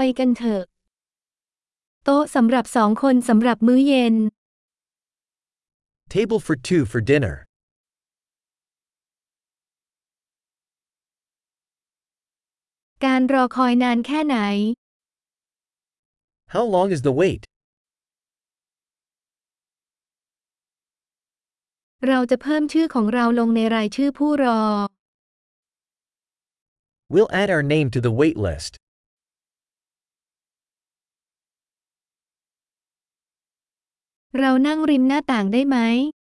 กันเถอะโต๊ะสำหรับ2 คนสำหรับมื้อเย็น Table for 2 for dinner. การรอคอยนานแค่ไหน How long is the wait? เราจะเพิ่มชื่อของเราลงในรายชื่อผู้รอ We'll add our name to the wait list. เรานั่งริมหน้าต่างได้ไหม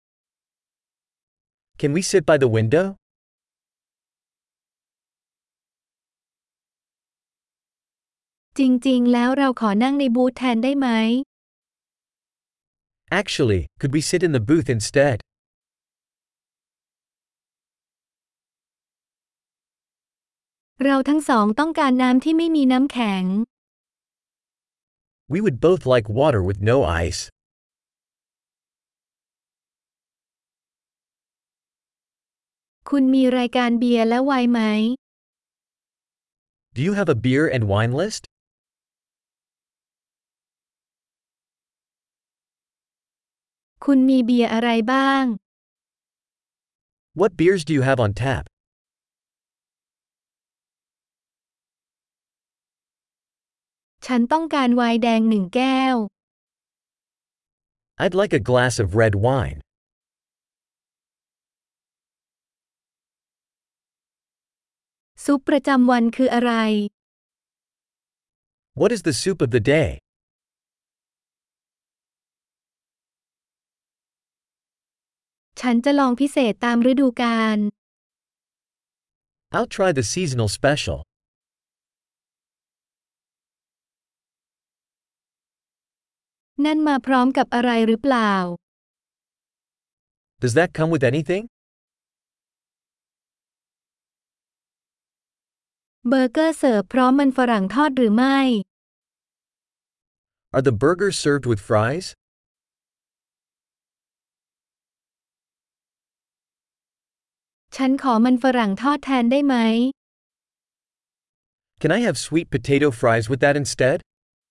Can we sit by the window? จริงๆ แล้วเราขอนั่งในบูธแทนได้ไหม Actually, could we sit in the booth instead? เราทั้งสองต้องการน้ำที่ไม่มีน้ำแข็ง We would both like water with no ice. คุณมีรายการเบียร์และไวน์ไหม Do you have a beer and wine list? คุณมีเบียร์อะไรบ้าง What beers do you have on tap? ฉันต้องการไวน์แดง1 แก้ว I'd like a glass of red wine. ซุปประจำวันคืออะไร What is the soup of the day? ฉันจะลองพิเศษตามฤดูกาล I'll try the seasonal special. นั่นมาพร้อมกับอะไรหรือเปล่า Does that come with anything? เบอร์เกอร์เสิร์ฟพร้อมมันฝรั่งทอดหรือไม่ Are the burgers served with fries? ฉันขอมันฝรั่งทอดแทนได้ไหม Can I have sweet potato fries with that instead?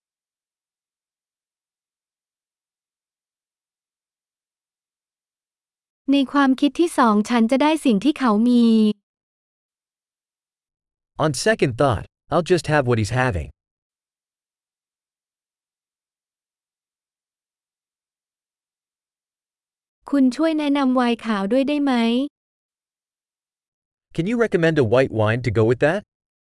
ในความคิดที่สองฉันจะได้สิ่งที่เขามี On second thought, I'll just have what he's having. คุณช่วยแนะนำไวน์ขาวด้วยได้ไหม Can you recommend a white wine to go with that?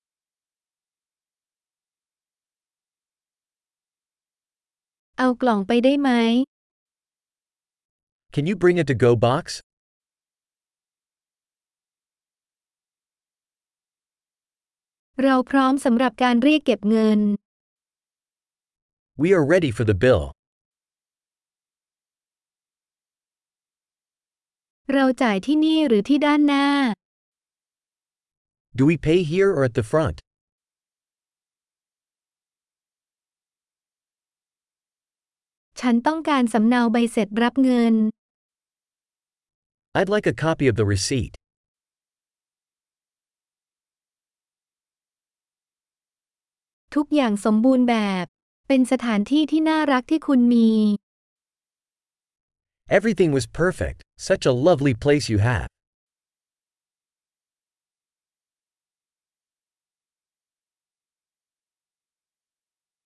เอากล่องไปได้ไหม Can you bring a to-go box? เราพร้อมสำหรับการเรียกเก็บเงิน We are ready for the bill. เราจ่ายที่นี่หรือที่ด้านหน้า Do we pay here or at the front? ฉันต้องการสำเนาใบเสร็จรับเงิน I'd like a copy of the receipt. ทุกอย่างสมบูรณ์แบบ เป็นสถานที่ที่น่ารักที่คุณมี Everything was perfect. Such a lovely place you have.